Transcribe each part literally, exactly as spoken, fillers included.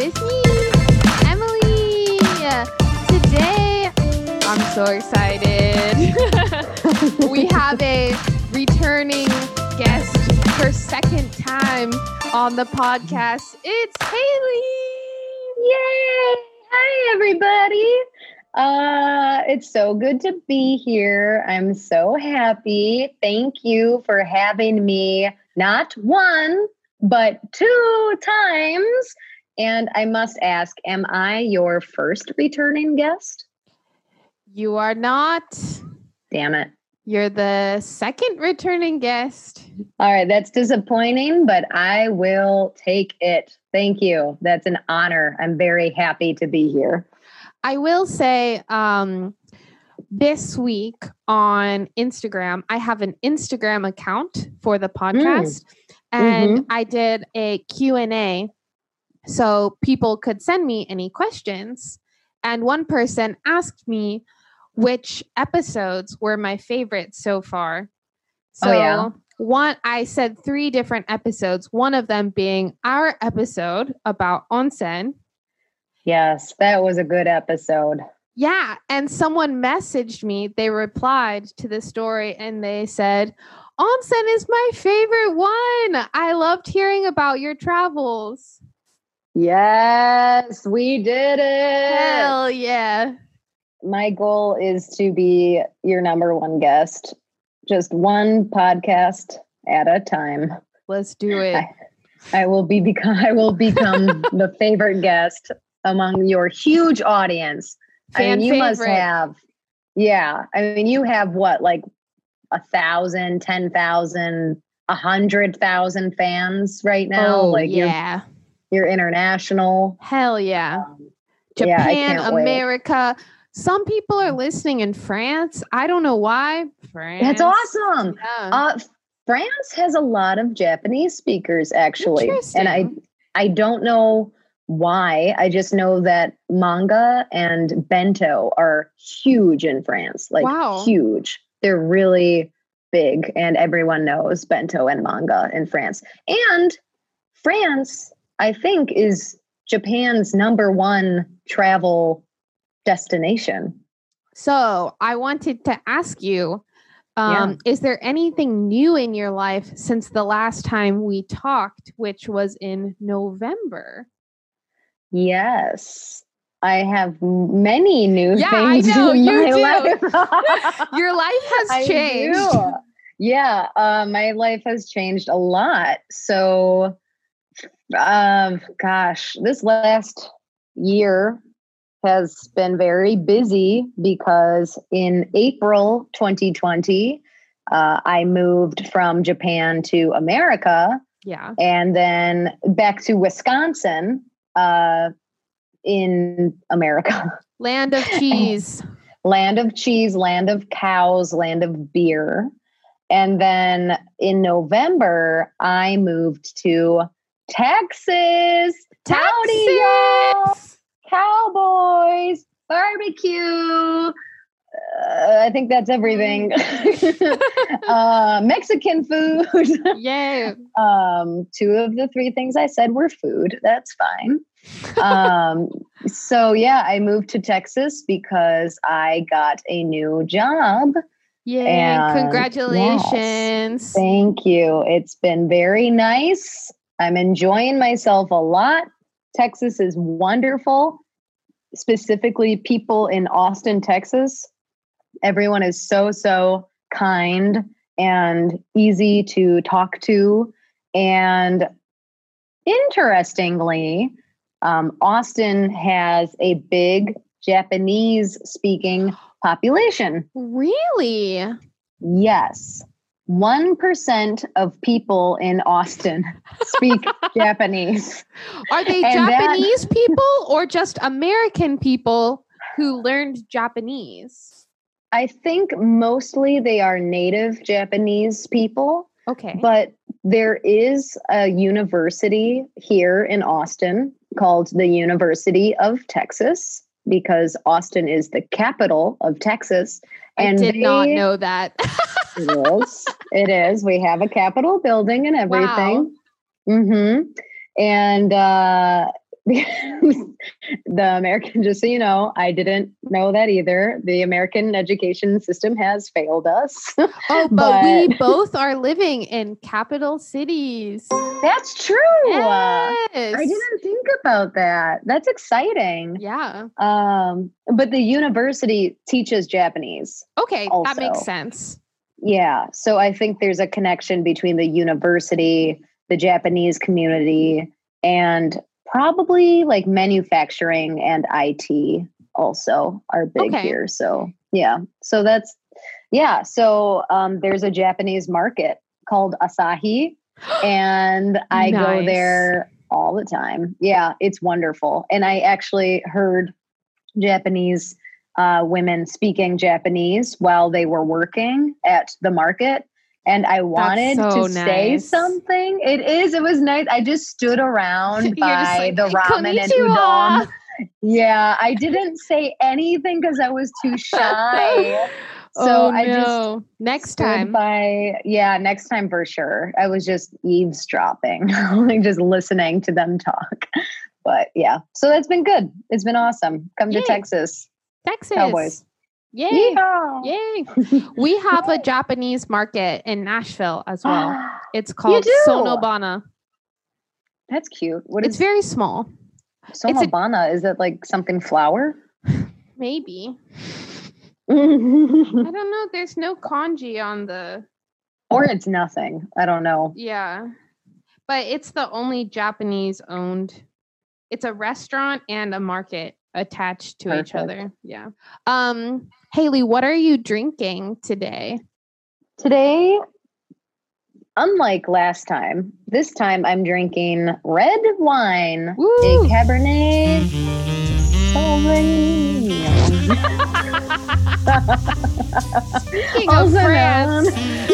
with me, Emily. Today, I'm so excited. We have a returning guest for second time on the podcast. It's Haley. Yay! Hi, everybody. Uh, it's so good to be here. I'm so happy. Thank you for having me not one, but two times. And I must ask, am I your first returning guest? You are not. Damn it. You're the second returning guest. All right, that's disappointing, but I will take it. Thank you. That's an honor. I'm very happy to be here. I will say um, this week on Instagram, I have an Instagram account for the podcast, mm. and mm-hmm. I did a Q and A so people could send me any questions. And one person asked me which episodes were my favorites so far. So oh, yeah. one, I said three different episodes, one of them being our episode about onsen. Yes, that was a good episode. Yeah. And someone messaged me. They replied to the story and they said, onsen is my favorite one. I loved hearing about your travels. Yes, we did it. Hell yeah. My goal is to be your number one guest. Just one podcast at a time. Let's do it. I, I will be become I will become the favorite guest among your huge audience. Fan I mean, you favorite. must have, yeah. I mean, you have what, like a thousand, ten thousand, a hundred thousand fans right now. Oh, like yeah. You're, you're international. Hell yeah. Um, Japan, yeah, America. Wait. Some people are listening in France. I don't know why. France. That's awesome. Yeah. Uh, France has a lot of Japanese speakers, actually. And I, I don't know why. I just know that manga and bento are huge in France. Like wow. huge. They're really big. And everyone knows bento and manga in France. And France, I think, is Japan's number one travel destination. So I wanted to ask you, um, yeah. is there anything new in your life since the last time we talked, which was in November? Yes, I have many new yeah, things I know, in you my do. life. Your life has I changed. Do. Yeah, uh, my life has changed a lot. So, um, gosh, this last year has been very busy because in April twenty twenty, uh, I moved from Japan to America. Yeah. And then back to Wisconsin uh, in America. Land of cheese. Land of cheese, land of cows, land of beer. And then in November, I moved to Texas. Texas! Howdy, y'all! Cowboys, barbecue. Uh, I think that's everything. uh, Mexican food. Yeah. Um, two of the three things I said were food. That's fine. um, so yeah, I moved to Texas because I got a new job. Yay, and congratulations. Yes, thank you. It's been very nice. I'm enjoying myself a lot. Texas is wonderful, specifically people in Austin, Texas. Everyone is so, so kind and easy to talk to. And interestingly, um, Austin has a big Japanese speaking population. Really? Yes. one percent of people in Austin speak Japanese. Are they and Japanese that, people or just American people who learned Japanese? I think mostly they are native Japanese people. Okay. But there is a university here in Austin called the University of Texas because Austin is the capital of Texas. And I did they, not know that. It is. It is. We have a Capitol building and everything. Wow. Mm-hmm. And uh, the American, just so you know, I didn't know that either. The American education system has failed us. Oh, but, but we both are living in capital cities. That's true. Yes. I didn't think about that. That's exciting. Yeah. Um, but the university teaches Japanese. Okay, also. That makes sense. Yeah. So I think there's a connection between the university, the Japanese community, and probably like manufacturing and I T also are big okay. here. So yeah. So that's, yeah. So um, there's a Japanese market called Asahi and I nice. go there all the time. Yeah. It's wonderful. And I actually heard Japanese uh, women speaking Japanese while they were working at the market. And I wanted so to nice. say something. It is. It was nice. I just stood around by like, the ramen and udon. Yeah, I didn't say anything because I was too shy. So oh, I no. just next time. By yeah, next time for sure. I was just eavesdropping, like just listening to them talk. But yeah, so that's been good. It's been awesome. Come Yay. to Texas, Texas, Cowboys. Yay. Yeehaw. Yay. We have a Japanese market in Nashville as well. It's called Sonobana. That's cute. What it's is very small. Sonobana? A, is it like something flower? Maybe. I don't know. There's no kanji on the... Or it's nothing. I don't know. Yeah. But it's the only Japanese owned... It's a restaurant and a market attached to Perfect. each other. Yeah. Um, Haley, what are you drinking today? Today, unlike last time, this time I'm drinking red wine, Woo! a Cabernet Sauvignon. Speaking of France.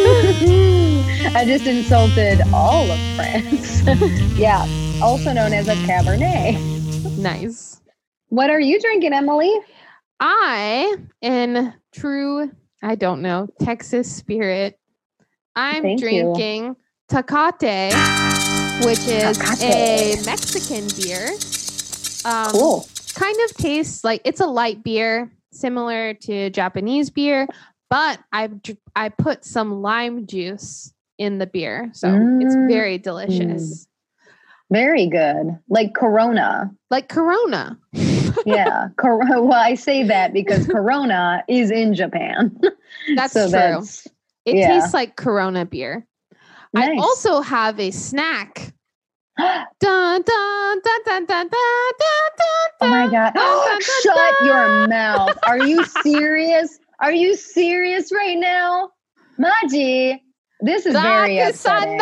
I just insulted all of France. Yeah, also known as a Cabernet. Nice. What are you drinking, Emily? I, in true, I don't know, Texas spirit, I'm Thank drinking you. Tecate, which is Tecate. a Mexican beer. Um, cool. Kind of tastes like it's a light beer, similar to Japanese beer, but I I put some lime juice in the beer, so mm. it's very delicious. Mm. Very good. Like Corona. Like Corona. Yeah. Cor- well, I say that because Corona is in Japan. That's so true. That's, it yeah. tastes like Corona beer. Nice. I also have a snack. dun, dun, dun, dun, dun, dun, dun, oh my God. Dun, dun, dun, Shut dun. your mouth. Are you serious? Are you serious right now? Maji, this is very upsetting.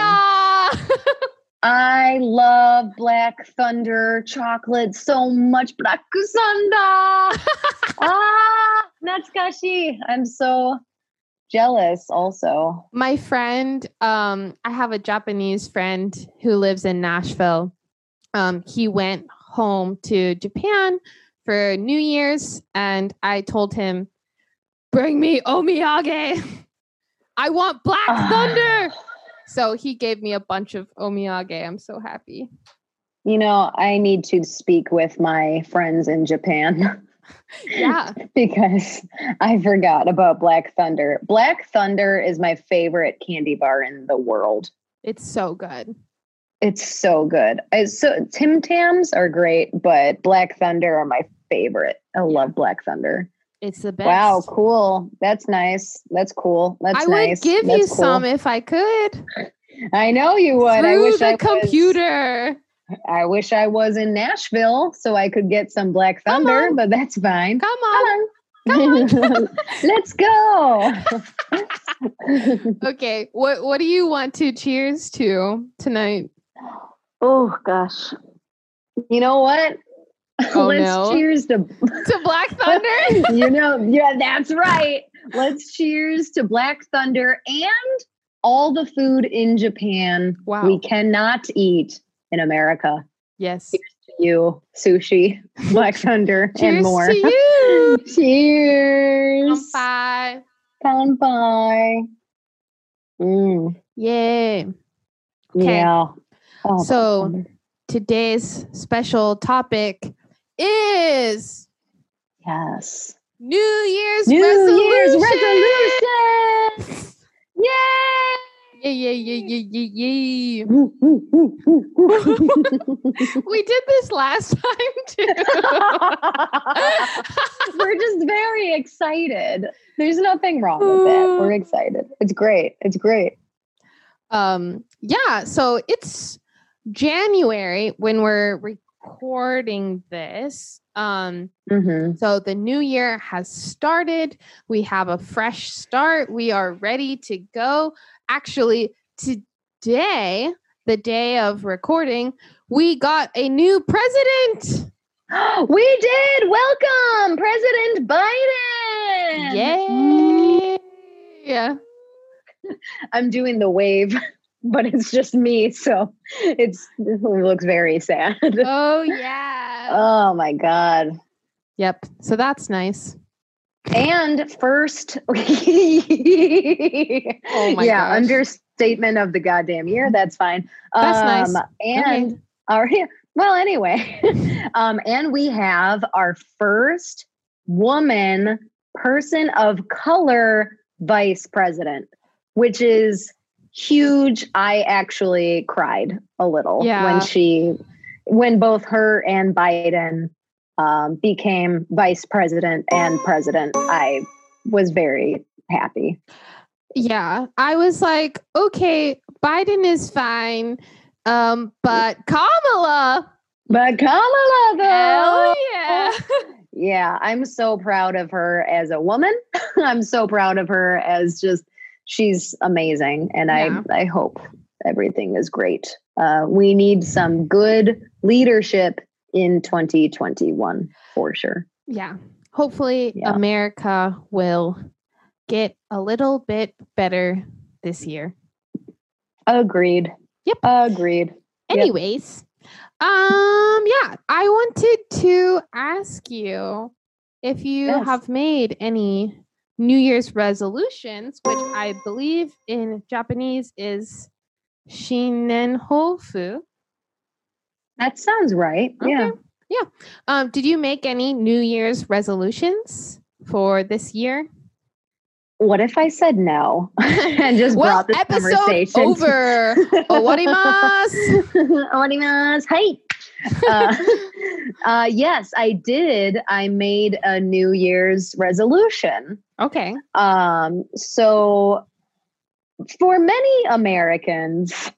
I love Black Thunder chocolate so much. Black Thunder. Ah, natsukashi. I'm so jealous also. My friend, um, I have a Japanese friend who lives in Nashville. Um, he went home to Japan for New Year's and I told him, bring me omiyage. I want Black Thunder. So he gave me a bunch of omiyage. I'm so happy. You know, I need to speak with my friends in Japan. Yeah. Because I forgot about Black Thunder. Black Thunder is my favorite candy bar in the world. It's so good. It's so good. I, so Tim Tams are great, but Black Thunder are my favorite. I love Black Thunder. It's the best. Wow, cool. That's nice. That's cool. That's I nice. would give That's you cool. some if I could. I know you would. Through I wish the I computer. Was, I wish I was in Nashville so I could get some Black Thunder, but that's fine. Come on. Come on. Come on. Let's go. Okay. What what do you want to cheers to tonight? Oh gosh. You know what? Oh, Let's no. cheers to to Black Thunder. You know, yeah, that's right. Let's cheers to Black Thunder and all the food in Japan wow. we cannot eat in America. Yes. Cheers to you, sushi, Black Thunder, and more. Cheers to you. Cheers. Kanpai. Kanpai. Mm. Yay. Okay. Yeah. Oh, so today's special topic is Yes. New Year's New resolution. Year's resolution. Yay! Yeah, yeah, yeah, yeah, yeah, yeah. Woo, woo, woo, woo, woo. We did this last time too. We're just very excited. There's nothing wrong with it. We're excited. It's great. It's great. Um, yeah, so it's January when we're recording this. Um, Mm-hmm. so the new year has started. We have a fresh start. We are ready to go. Actually, today, the day of recording, we got a new president. We did. Welcome, President Biden. Yay! Yeah. I'm doing the wave, but it's just me, so it's it looks very sad. Oh yeah. Oh my God. Yep. So that's nice. And first, oh my yeah, gosh. understatement of the goddamn year. That's fine. That's um, nice. And Okay. our well, anyway, um, and we have our first woman person of color vice president, which is huge. I actually cried a little Yeah. when she, when both her and Biden um, became vice president and president. I was very happy. Yeah. I was like, okay, Biden is fine. Um, but Kamala, But Kamala, though, hell yeah. yeah, I'm so proud of her as a woman. I'm so proud of her as just, she's amazing. And Yeah. I, I hope everything is great. Uh, we need some good leadership in twenty twenty-one for sure. Yeah. Hopefully Yeah. America will get a little bit better this year. Agreed. Yep. Agreed. Yep. Anyways, um, yeah, I wanted to ask you if you Yes. have made any New Year's resolutions, which I believe in Japanese is Shinenhofu. That sounds right. Yeah. Okay. Um, did you make any New Year's resolutions for this year? What if I said no and just Well, brought this episode conversation? over. Owarimasu. Owarimasu. Hey. Uh, uh, yes, I did. I made a New Year's resolution. Okay. Um, so for many Americans,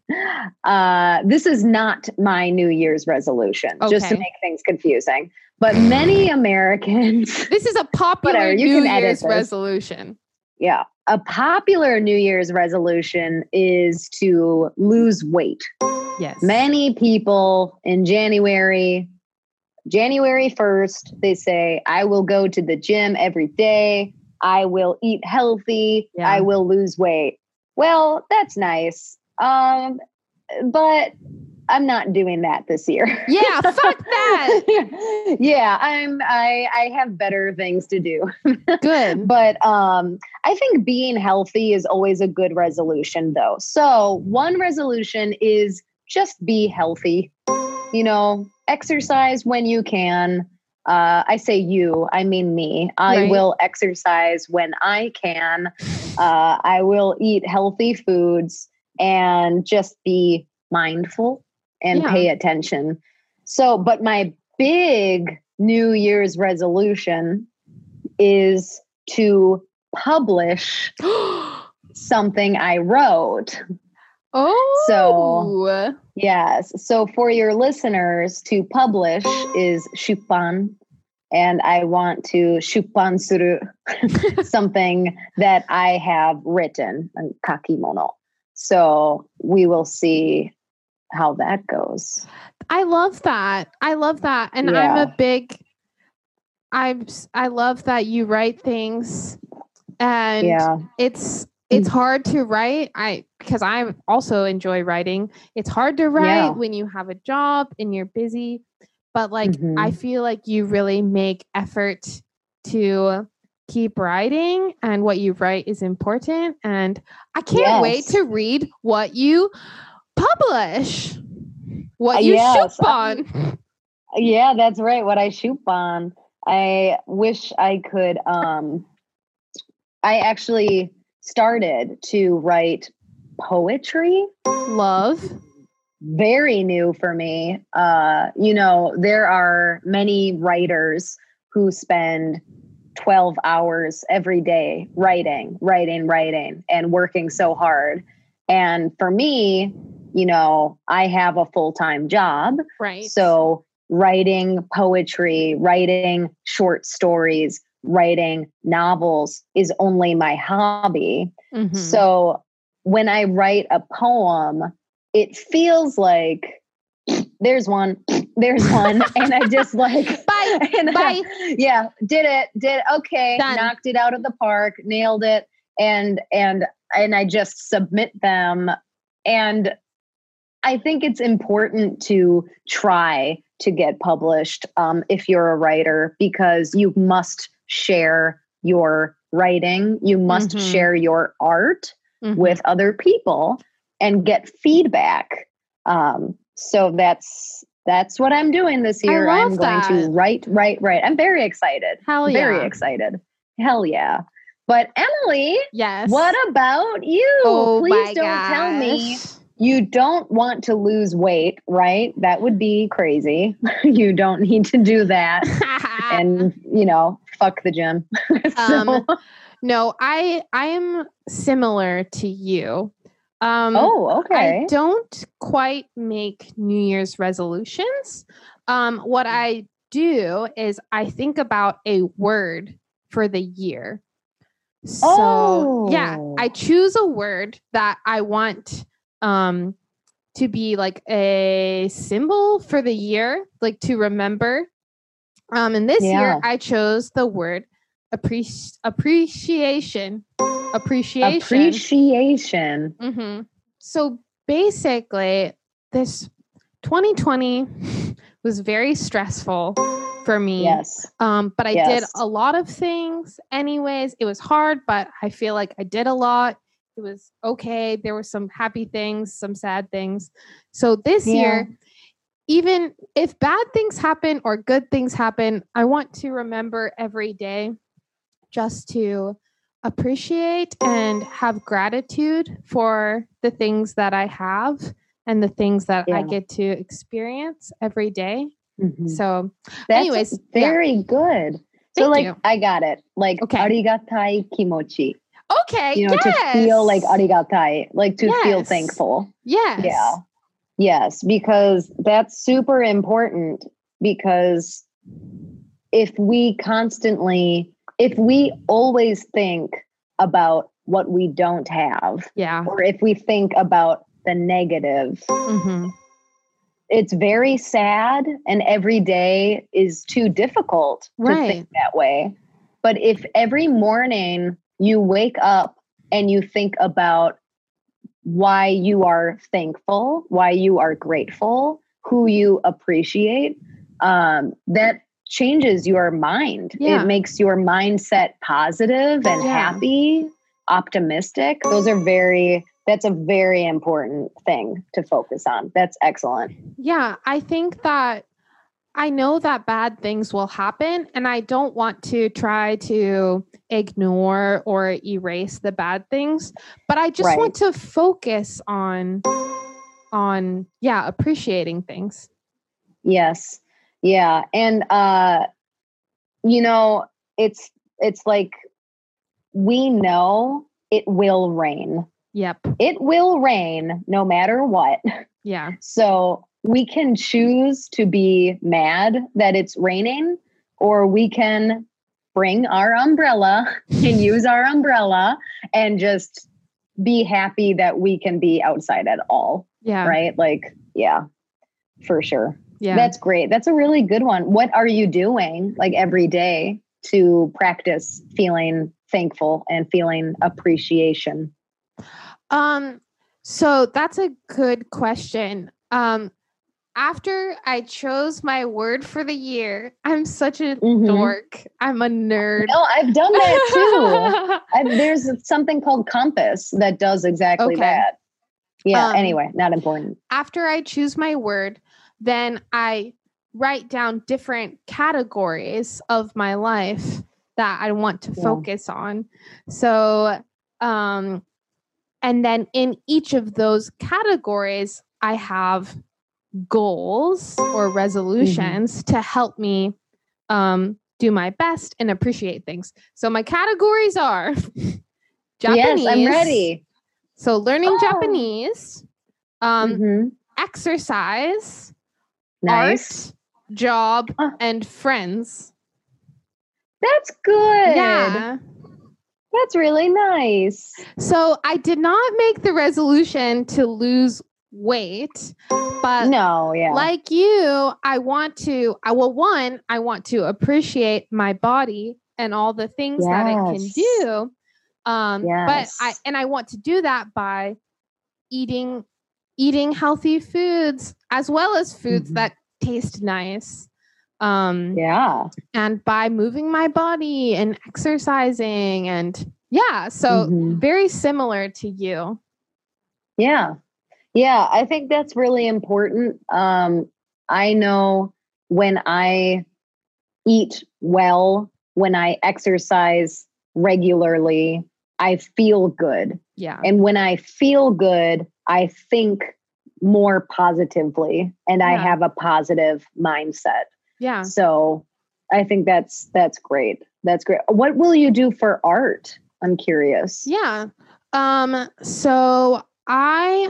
uh, this is not my New Year's resolution, just to Okay. make things confusing. But many Americans, This is a popular Whatever, you New can edit Year's this. resolution. yeah, a popular New Year's resolution is to lose weight. Yes. Many people in January, January first, they say, I will go to the gym every day. I will eat healthy. Yeah. I will lose weight. Well, that's nice. Um, but I'm not doing that this year. Yeah, fuck that. yeah, I'm I I have better things to do. Good. But um, I think being healthy is always a good resolution, though. So one resolution is just be healthy. You know, exercise when you can. Uh, I say you, I mean me. I Right. will exercise when I can. Uh, I will eat healthy foods and just be mindful and Yeah. pay attention. So, but my big New Year's resolution is to publish something I wrote. Oh. Yes. So for your listeners, to publish is shupan. And I want to shupan suru something that I have written, kakimono. So we will see how that goes. I love that. I love that. And I'm Yeah. a big I I love that you write things and Yeah. it's it's hard to write. I because I also enjoy writing. It's hard to write Yeah. when you have a job and you're busy, but like Mhm. I feel like you really make effort to keep writing and what you write is important and I can't wait Yes. to read what you publish. What you yes, shoop on. Yeah, that's right. What I shoop on. I wish I could. Um, I actually started to write poetry. Love. Very new for me. Uh, you know, there are many writers who spend twelve hours every day writing, writing, writing, and working so hard. And for me, you know, I have a full-time job. Right. So writing poetry, writing short stories, writing novels is only my hobby. Mm-hmm. So when I write a poem, it feels like there's one, there's one. And I just like, bye, and, bye. Uh, yeah, did it, did, okay, Done. Knocked it out of the park, nailed it. And, and, and I just submit them. And I think it's important to try to get published um, if you're a writer, because you must share your writing. You must Mm-hmm. share your art Mm-hmm. with other people and get feedback. Um, so that's that's what I'm doing this year. I love I'm going that. to write, write, write. I'm very excited. Hell Very yeah. excited. Hell yeah. But Emily, Yes. what about you? Oh, Please my don't gosh. tell me you don't want to lose weight, right? That would be crazy. You don't need to do that. And, you know, fuck the gym. So- um, no, I I am similar to you. Um, oh, okay. I don't quite make New Year's resolutions. Um, what I do is I think about a word for the year. So Oh. yeah, I choose a word that I want um, to be like a symbol for the year, like to remember. Um, and this Yeah. year I chose the word appreci- appreciation. Appreciation. Appreciation. Mm-hmm. So basically, this twenty twenty was very stressful for me. Yes. Um, but I Yes. did a lot of things anyways. It was hard, but I feel like I did a lot. It was okay. There were some happy things, some sad things. So this Yeah. year, even if bad things happen or good things happen, I want to remember every day just to appreciate and have gratitude for the things that I have and the things that I Yeah. get to experience every day. Mhm. So That's anyways, very good. So Thank like, you. I got it. Like, Okay. arigatai kimochi. okay, You know, yes. to feel like arigatai, like to feel Yes. thankful. Yes. Yeah. Yes, because that's super important, because if we constantly, if we always think about what we don't have, Yeah. or if we think about the negative, Mm-hmm. it's very sad, and every day is too difficult to Right. think that way. But if every morning you wake up and you think about why you are thankful, why you are grateful, who you appreciate, um, that changes your mind. Yeah. It makes your mindset positive and Yeah. happy, optimistic. Those are very, that's a very important thing to focus on. That's excellent. Yeah, I think that I know that bad things will happen, and I don't want to try to ignore or erase the bad things, but I just Right. want to focus on on yeah, appreciating things. Yes. Yeah. And, uh, you know, it's, it's like, we know it will rain. Yep. It will rain no matter what. Yeah. So we can choose to be mad that it's raining, or we can bring our umbrella and use our umbrella and just be happy that we can be outside at all. Yeah. Right? Like, yeah, for sure. Yeah. That's great. That's a really good one. What are you doing like every day to practice feeling thankful and feeling appreciation? Um so that's a good question. Um After I chose my word for the year, I'm such a Mhm. dork. I'm a nerd. No, I've done that too. I, there's something called Compass that does exactly Okay. that. Yeah. Um, anyway, not important. After I choose my word, then I write down different categories of my life that I want to Yeah. focus on. So, um, and then in each of those categories, I have goals or resolutions to help me um, do my best and appreciate things. So my categories are Japanese. Yes, I'm ready. So learning Oh. Japanese, um, Mhm. exercise, Nice. art, job, Oh. and friends. That's good. Yeah. That's really nice. So I did not make the resolution to lose weight, but No, yeah. like you, I want to, I well, one, I want to appreciate my body and all the things that it can Yes. do. Um, but Yes. I, and I want to do that by eating, eating healthy foods as well as foods Mhm. that taste nice. Um, Yeah. and by moving my body and exercising and yeah, so Mhm. very similar to you. Yeah. Yeah, I think that's really important. Um, I know when I eat well, when I exercise regularly, I feel good. Yeah. And when I feel good, I think more positively and I Yeah. have a positive mindset. Yeah. So I think that's that's great. That's great. What will you do for art? I'm curious. Yeah. Um, so I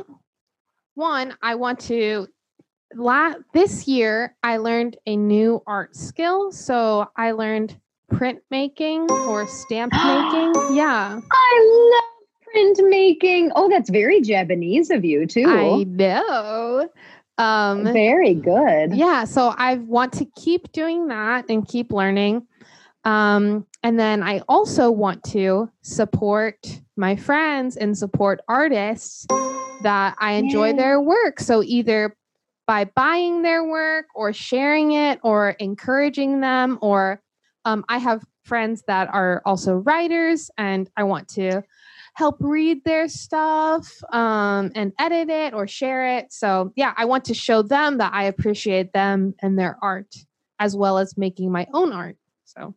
one, I want to la- this year I learned a new art skill. So I learned printmaking or stamp making. Yeah. I love printmaking. Oh, that's very Japanese of you too. I know. Um Very good. yeah, so I want to keep doing that and keep learning. Um, and then I also want to support my friends and support artists that I enjoy Yay. their work. So either by buying their work or sharing it or encouraging them, or um, I have friends that are also writers and I want to help read their stuff um, and edit it or share it. So yeah, I want to show them that I appreciate them and their art as well as making my own art. So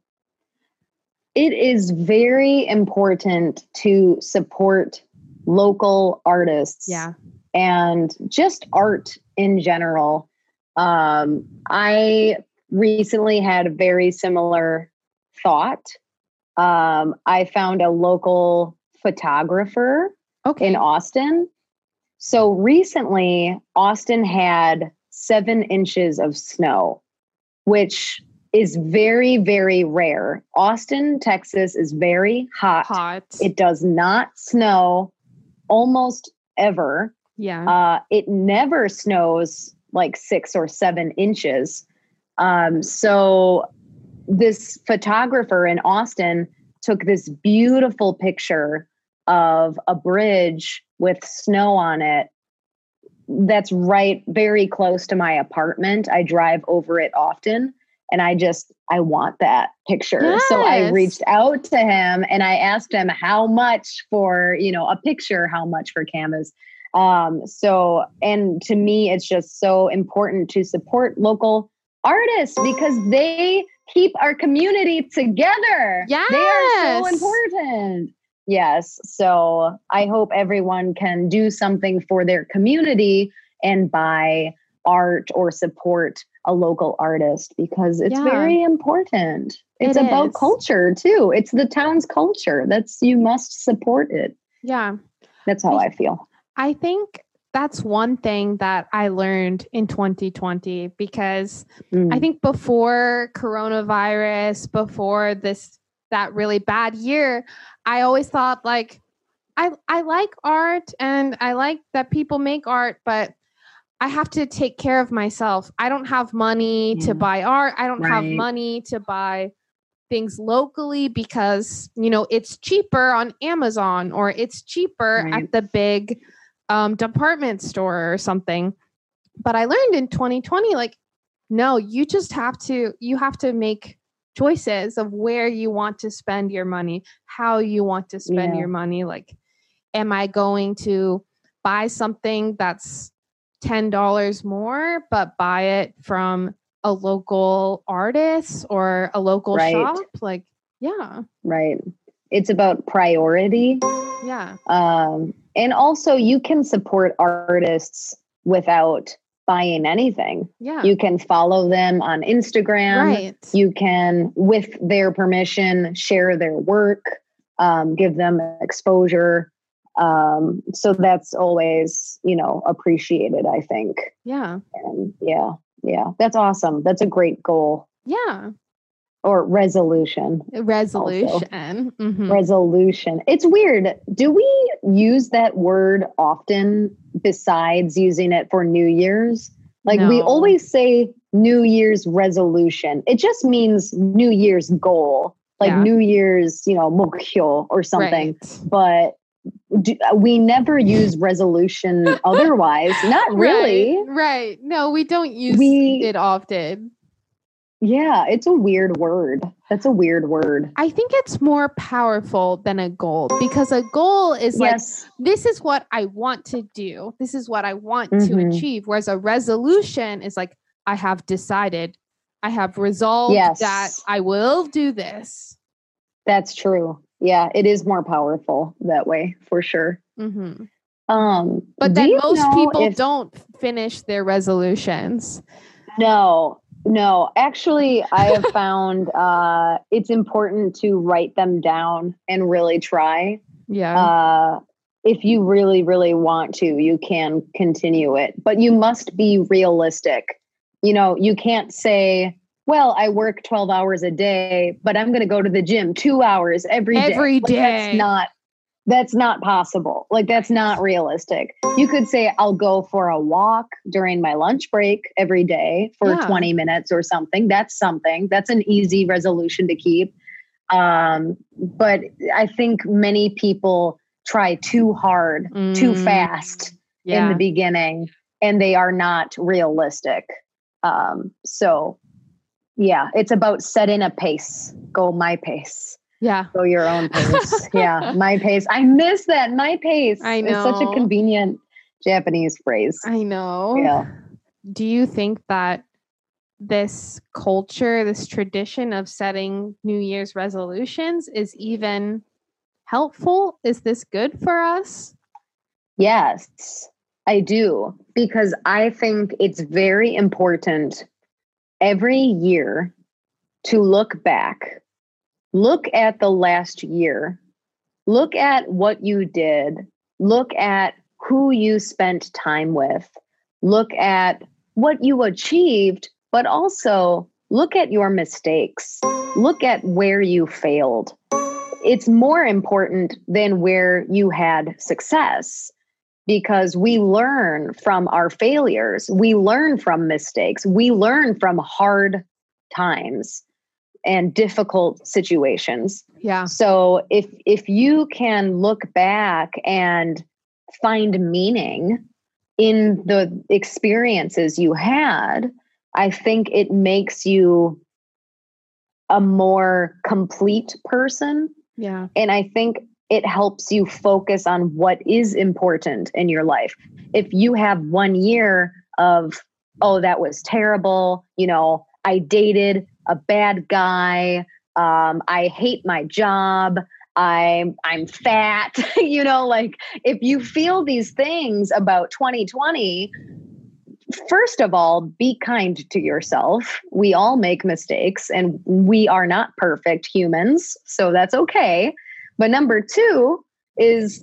It is very important to support local artists yeah. and just art in general. Um, I recently had a very similar thought. Um, I found a local photographer Okay. in Austin. So recently, Austin had seven inches of snow, which is very, very rare. Austin, Texas is very hot. Hot. It does not snow almost ever. Yeah. Uh, it never snows like six or seven inches. Um, so this photographer in Austin took this beautiful picture of a bridge with snow on it that's right very close to my apartment. I drive over it often and I just I want that picture. Yes. So I reached out to him and I asked him how much for, you know, a picture, how much for canvas. Um, so and to me it's just so important to support local artists because they keep our community together. Yes. They are so important. Yes. So I hope everyone can do something for their community and buy art or support a local artist because it's Yeah. very important. It's It about is. culture too. It's the town's culture. That's you must support it. Yeah. That's how I feel. I think that's one thing that I learned in twenty twenty because Mm. I think before coronavirus, before this that really bad year, I always thought like I I like art and I like that people make art, but I have to take care of myself. I don't have money Yeah. to buy art. I don't have Right. money to buy things locally because, you know, it's cheaper on Amazon or it's cheaper Right. at the big um, department store or something. But I learned in twenty twenty, like, no, you just have to, you have to make choices of where you want to spend your money, how you want to spend Yeah. your money. Like, am I going to buy something that's ten dollars more, but buy it from a local artist or a local Right. shop. Like, yeah. Right. It's about priority. Yeah. Um, and also you can support artists without buying anything. Yeah. You can follow them on Instagram. Right. You can, with their permission, share their work, um, give them exposure. Um, so that's always, you know, appreciated, I think. Yeah. And yeah, yeah, that's awesome. That's a great goal. Yeah. Or resolution. Resolution. Mm-hmm. Resolution. It's weird. Do we use that word often besides using it for New Year's? Like No. we always say New Year's resolution. It just means New Year's goal, like Yeah. New Year's, you know, mokyo or something. Right. But do, we never use resolution otherwise. Not really. Right. Right. No, we don't use We- it often. Yeah, it's a weird word. That's a weird word. I think it's more powerful than a goal, because a goal is like, Yes. this is what I want to do. This is what I want to Mhm. achieve. Whereas a resolution is like, I have decided, I have resolved Yes. that I will do this. That's true. Yeah, it is more powerful that way for sure. hmm Um, But do then you most know people if- don't finish their resolutions. No, no. Actually, I have found uh, it's important to write them down and really try. Yeah. Uh, if you really, really want to, you can continue it, but you must be realistic. You know, you can't say, well, I work twelve hours a day, but I'm going to go to the gym two hours every day. Every Like, day. that's not, that's not possible. Like, that's not realistic. You could say, I'll go for a walk during my lunch break every day for Yeah. twenty minutes or something. That's something. That's an easy resolution to keep. Um, but I think many people try too hard, too Mm, fast yeah. in the beginning, and they are not realistic. Um, so yeah, it's about setting a pace. Go my pace. Yeah. Go your own pace. Yeah, my pace. I miss that. My pace. I It's such a know. convenient Japanese phrase. I know. Yeah. Do you think that this culture, this tradition of setting New Year's resolutions is even helpful? Is this good for us? Yes, I do. Because I think it's very important every year to look back, look at the last year, look at what you did, look at who you spent time with, look at what you achieved, but also look at your mistakes, look at where you failed. It's more important than where you had success, because we learn from our failures. We learn from mistakes. We learn from hard times and difficult situations. Yeah. So if if you can look back and find meaning in the experiences you had, I think it makes you a more complete person. Yeah. And I think it helps you focus on what is important in your life. If you have one year of, oh, that was terrible, you know, I dated a bad guy, um, I hate my job, I'm I'm fat, you know, like if you feel these things about twenty twenty, first of all, be kind to yourself. We all make mistakes and we are not perfect humans, so that's okay. But number two is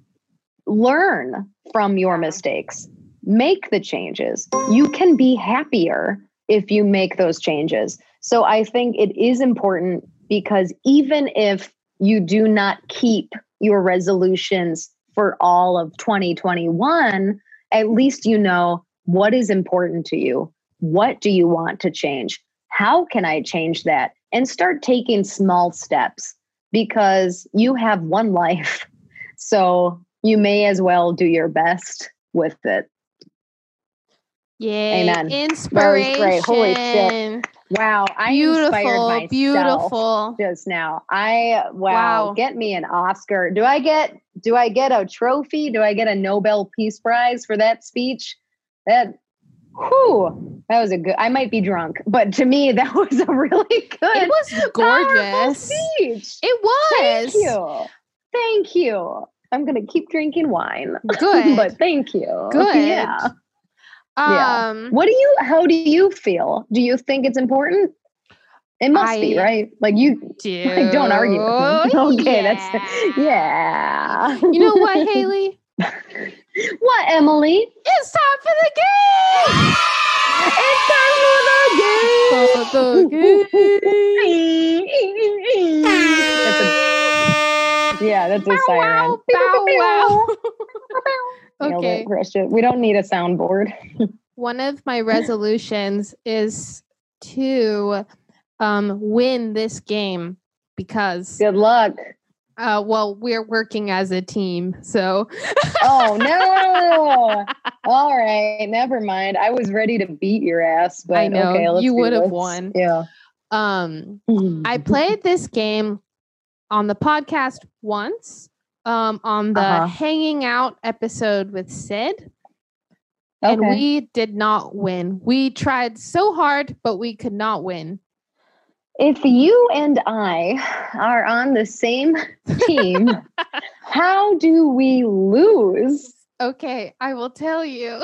learn from your mistakes, make the changes. You can be happier if you make those changes. So I think it is important, because even if you do not keep your resolutions for all of twenty twenty-one, at least you know what is important to you. What do you want to change? How can I change that? And start taking small steps, because you have one life. So you may as well do your best with it. Yay. Amen. Inspiration. That was great. Holy shit. Wow. I inspired Beautiful. myself Beautiful. just now. I, wow, Wow. Get me an Oscar. Do I get, do I get a trophy? Do I get a Nobel Peace Prize for that speech? That, whew, that was a good, I might be drunk, but to me, that was a really good, It was gorgeous. speech. It was. Thank you. Thank you. I'm going to keep drinking wine. Good. But thank you. Good. Yeah. Yeah. Um, What do you, how do you feel? Do you think it's important? It must I be, right? Like you do. like, don't argue with me. Okay, Yeah. that's, yeah. You know what, Haley? What, Emily? It's time for the game. It's time for the game. For the game. That's a, yeah, that's a Bow siren. wow, bow wow. Nailed Okay. it, crushed it. We don't need a soundboard. One of my resolutions is to um, win this game because, Good luck. uh, well, we're working as a team. So, Oh, no. All right. Never mind. I was ready to beat your ass, but I know, okay, let's you do would have this. won. Yeah. um, I played this game on the podcast once, um, on the Uh-huh. Hanging Out episode with Sid. And Okay. we did not win. We tried so hard, but we could not win. If you and I are on the same team, how do we lose? Okay, I will tell you.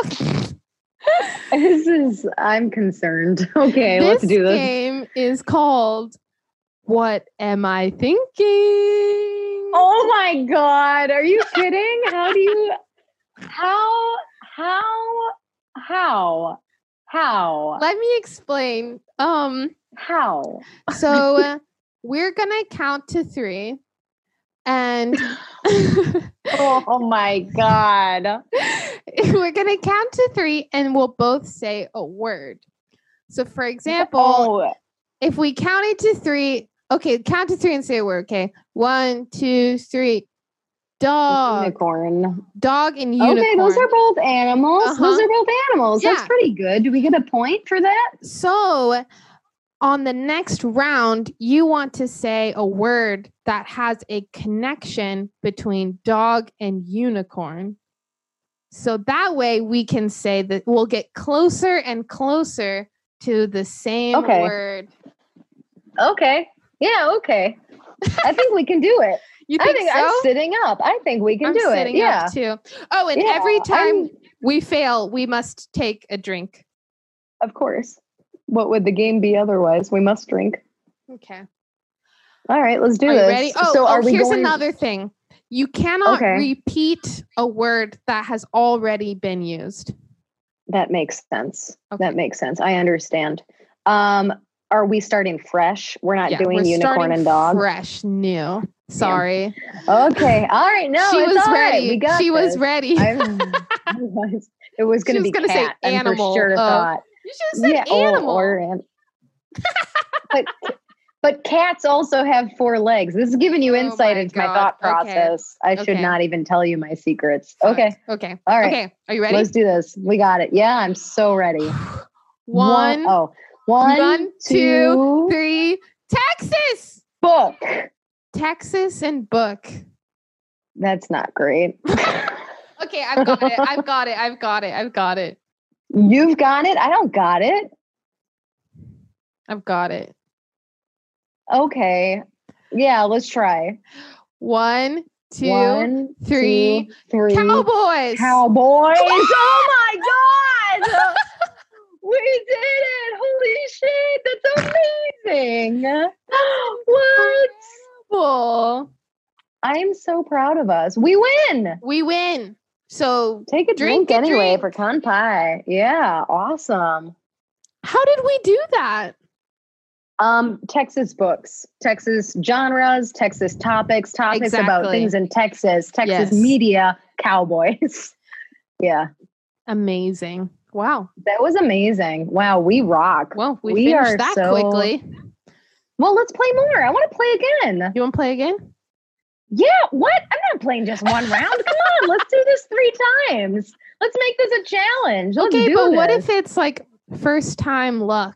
This is, I'm concerned. Okay, This let's do this. game is called What Am I Thinking? Oh my God. Are you kidding? How do you, how, how, how, how, Let me explain. Um, how? so uh, we're gonna count to three, and Oh my God. we're gonna count to three, and we'll both say a word. So, for example, Oh, if we counted to three, okay, count to three and say a word. Okay, one, two, three. Dog, unicorn. dog, and unicorn. Okay, those are both animals. Uh-huh. Those are both animals. Yeah. That's pretty good. Do we get a point for that? So, on the next round, you want to say a word that has a connection between dog and unicorn. So that way we can say that we'll get closer and closer to the same Okay. word. Okay. Yeah, okay. I think we can do it. You I think, think so? I'm sitting up. I think we can I'm do it. sitting Yeah. up too. Oh, and Yeah, every time I'm- we fail, we must take a drink. Of course. What would the game be otherwise? We must drink. Okay. All right, let's do Are you this. ready? Oh, so oh are we here's going... another thing. You cannot Okay. repeat a word that has already been used. That makes sense. Okay. That makes sense. I understand. Um, are we starting fresh? We're not Yeah, doing we're unicorn starting and dog. fresh, new. Sorry. Okay. All right. No, she it's was all right. ready. We got she was this. ready. I was, it was going She to was be gonna say cat. I'm animal. for sure Oh. thought. You should have said Yeah, oh, animal. or an- but but cats also have four legs. This is giving you Oh insight my into my God. thought Okay. process. I should Okay. not even tell you my secrets. Fuck. Okay. Okay. All right. Okay. Are you ready? Let's do this. We got it. Yeah, I'm so ready. One, Oh, one, one, two, two, three. Texas. book. Texas and book. That's not great. Okay, I've got it. I've got it. I've got it. I've got it. You've got it. I don't got it. I've got it. Okay. Yeah, let's try. One, two, One, three. two, three. Cowboys. Cowboys. Oh my God. We did it. Holy shit. That's amazing. What? Cool. I'm so proud of us. We win. We win. So Take a Drink drink, a anyway drink. for Con Pie. Yeah, awesome. how did we do that? Um, Texas books, Texas genres, Texas topics, topics about Exactly. things in Texas, Texas Yes. media, cowboys. Yeah, Amazing. Wow. that was amazing. Wow, we rock. Well, we, We finished are that so- quickly. Well, let's play more. I want to play again. You want to play again? Yeah, what? I'm not playing just one round. Come on, let's do this three times. Let's make this a challenge. Let's Okay, do but what this. if it's like first time luck?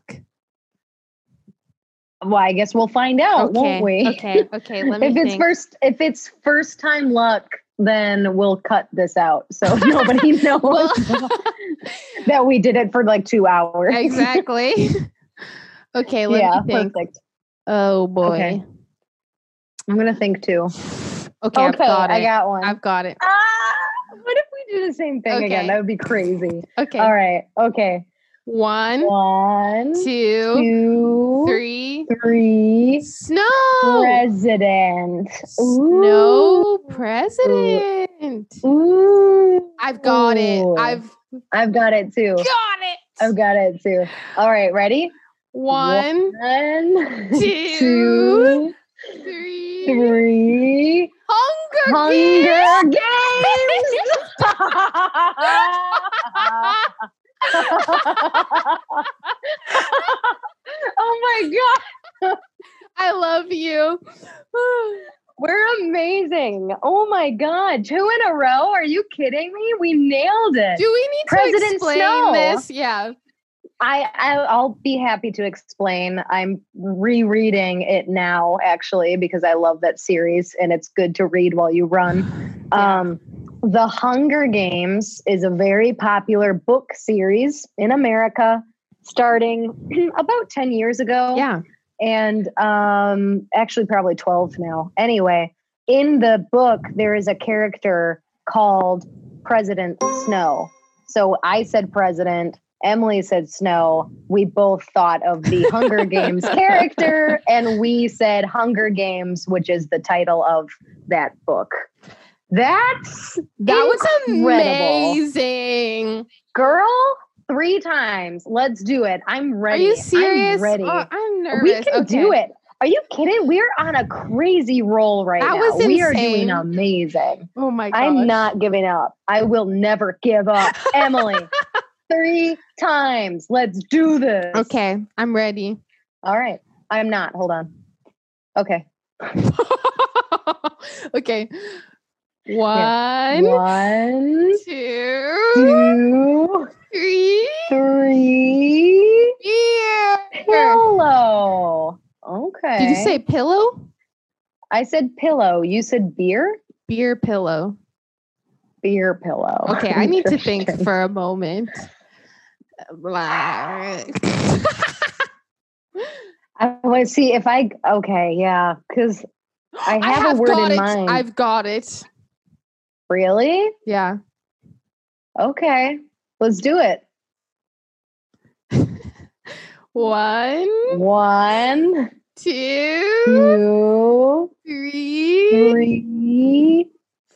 Well, I guess we'll find out, Okay. won't we? Okay. Okay. Let me if it's think. first, if it's first time luck, then we'll cut this out so nobody knows Well- that we did it for like two hours. Exactly. Okay, let yeah, me think. perfect. Oh boy. Okay. I'm gonna think too. Okay, I've got it. I got one. I've got it. Ah, what if we do the same thing Okay. again? That would be crazy. Okay. All right. Okay. One, One, two, two, three. three. Snow. President. Snow president. Ooh. I've got it. Ooh. I've I've got it too. got it. I've got it too. All right, ready? One, One, two, two, three. three. Hunger, Hunger Games. Oh my God. I love you. We're amazing. Oh my God. Two in a row? Are you kidding me? We nailed it. Do we need President to explain Snow. this? Yeah. I, I I'll be happy to explain. I'm rereading it now, actually, because I love that series and it's good to read while you run. Yeah. Um, The Hunger Games is a very popular book series in America, starting about ten years ago. Yeah. And um, actually, probably twelve now. Anyway, in the book, there is a character called President Snow. So I said president. Emily said Snow. We both thought of the Hunger Games character, and we said Hunger Games, which is the title of that book. That's That was incredible. amazing. Girl, three times. Let's do it. I'm ready. Are you serious? I'm ready. Oh, I'm nervous. We can Okay. do it. Are you kidding? We're on a crazy roll right That now. was We are insane. doing amazing. Oh my gosh. I'm not giving up. I will never give up. Emily, three times. Let's do this. Okay, I'm ready. All right. I'm not. Hold on. Okay. Okay. One, One, two, two, three. three. Yeah. Pillow. Okay. Did you say pillow? I said pillow. You said beer? Beer pillow. Beer pillow. Okay, I need to think Interesting. for a moment. I want to see if I. Okay, yeah, because I have, have a word got in it. mind. I've got it. Really? Yeah. Okay, let's do it. One, One, two, two, three. three.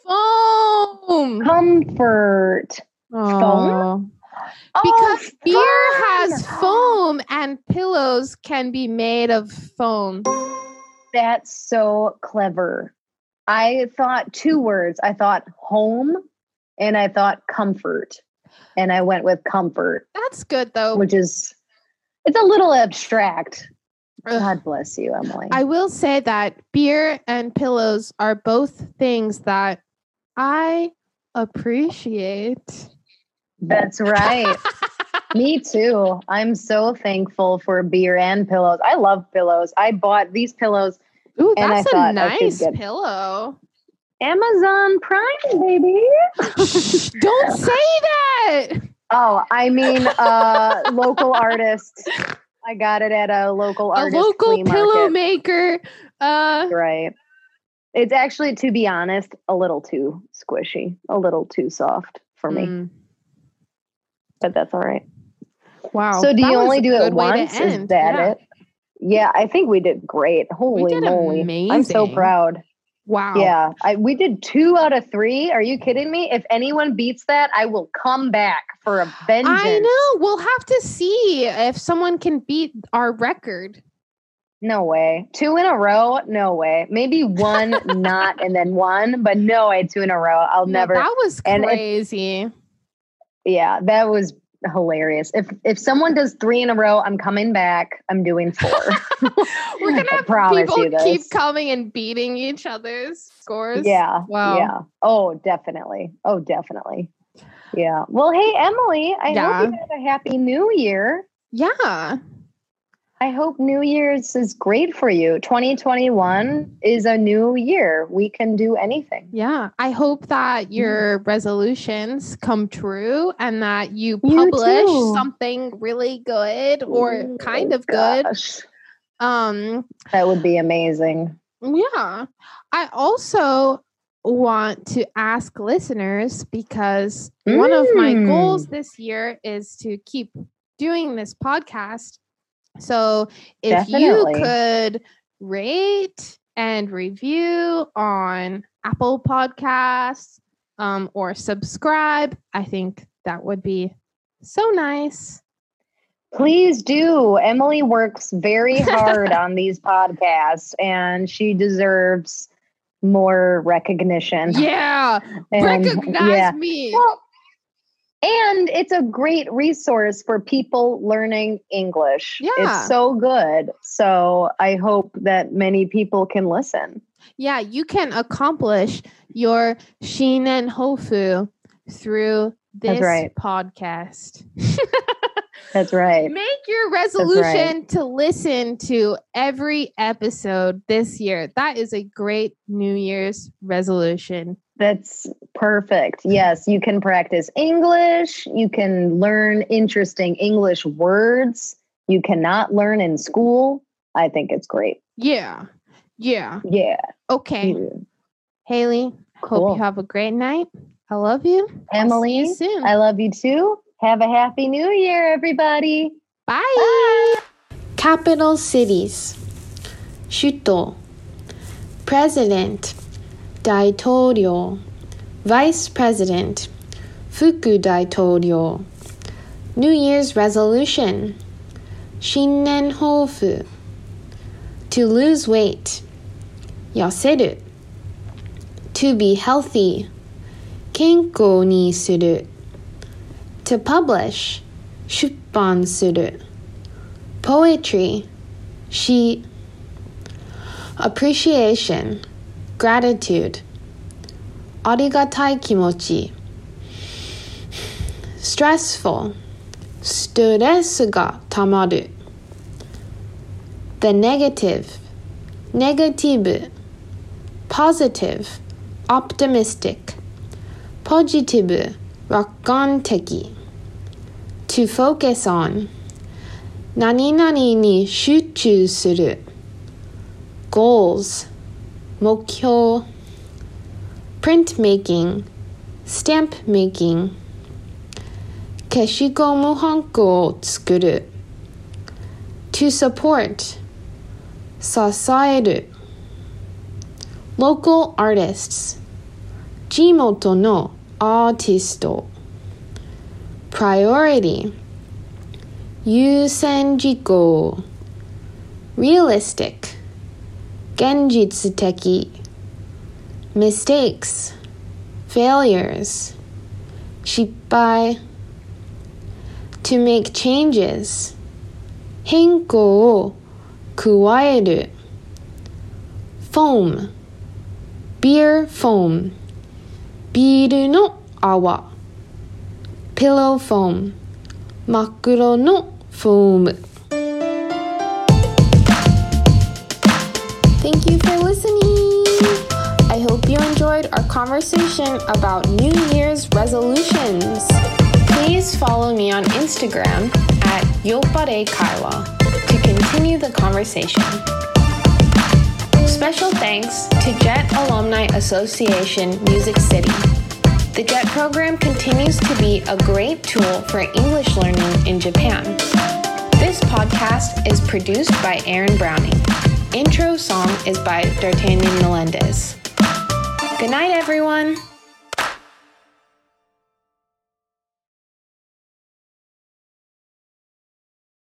Foam. Comfort. Aw. Oh, Because beer fun! has foam and pillows can be made of foam. That's so clever. I thought two words. I thought home and I thought comfort. And I went with comfort, That's good though. which is, it's a little abstract. Ugh. God bless you, Emily. I will say that beer and pillows are both things that I appreciate. That's right. Me too. I'm so thankful for beer and pillows. I love pillows. I bought these pillows. Ooh, And I that's a thought I should nice get- pillow. Amazon Prime, baby. Don't say that. Oh, I mean, uh, local artist. I got it at a local A artist local flea pillow market. maker. Uh, Right. It's actually, to be honest, a little too squishy, a little too soft for me, mm, but that's all right. wow. So, do that you was only a do it good way to once? Is end. that Yeah. it? Yeah, I think we did great. Holy did moly. I'm so amazing. proud. Wow. Yeah, I, we did two out of three. Are you kidding me? If anyone beats that, I will come back for a vengeance. I know. We'll have to see if someone can beat our record. No way. Two in a row? No way. Maybe one not and then one, but no way, two in a row. I'll No, never. that was and if- crazy. Yeah, that was hilarious. If if someone does three in a row, I'm coming back. I'm doing four. We're gonna I have promise people you this. keep coming and beating each other's scores. Yeah. Wow. Yeah. Oh, definitely. Oh, definitely. Yeah. Well, hey, Emily, I Yeah. hope you had a happy new year. Yeah. I hope New Year's is great for you. twenty twenty-one is a new year. We can do anything. Yeah. I hope that your mm. resolutions come true and that you You publish too. something really good or Oh, kind of good. gosh. Um, That would be amazing. Yeah. I also want to ask listeners because Mm. one of my goals this year is to keep doing this podcast. So if Definitely. you could rate and review on Apple Podcasts um, or subscribe, I think that would be so nice. Please do. Emily works very hard on these podcasts and she deserves more recognition. Yeah. And, Recognize yeah. me. Well, and it's a great resource for people learning English. Yeah. It's so good. So I hope that many people can listen. Yeah, you can accomplish your Shinen Hofu through this right. podcast. That's right. Make your resolution right. to listen to every episode this year. That is a great New Year's resolution. That's perfect. Yes, you can practice English. You can learn interesting English words you cannot learn in school. I think it's great. Yeah. Yeah. Yeah. Okay. Yeah. Haley, Cool. hope you have a great night. I love you. Emily, I'll see you soon. I love you too. Have a happy new year, everybody. Bye. Bye. Capital cities. 首都 President 大統領 Vice President 副大統領 New Year's Resolution 新年抱負 To lose weight 痩せる To be healthy 健康にする To publish 出版する Poetry 詩 Appreciation Gratitude ありがたい気持ち Stressful ストレスがたまる The negative Negative Positive Optimistic Positive 楽観的 To focus on 何々に集中する Goals 目標 Printmaking Stamp making 消しゴムはんこを作る To support 支える Local artists 地元のアーティスト Priority 優先事項 Realistic 現実的 Mistakes Failures 失敗 To make changes 変更を加える Foam Beer foam ビールの泡 Pillow foam 真っ黒のフォーム Thank you for listening. I hope you enjoyed our conversation about New Year's resolutions. Please follow me on Instagram at Yopare Kaiwa to continue the conversation. Special thanks to Jet Alumni Association Music City. The Jet program continues to be a great tool for English learning in Japan. This podcast is produced by Aaron Browning. Intro song is by D'Artagnan Melendez. Good night, everyone.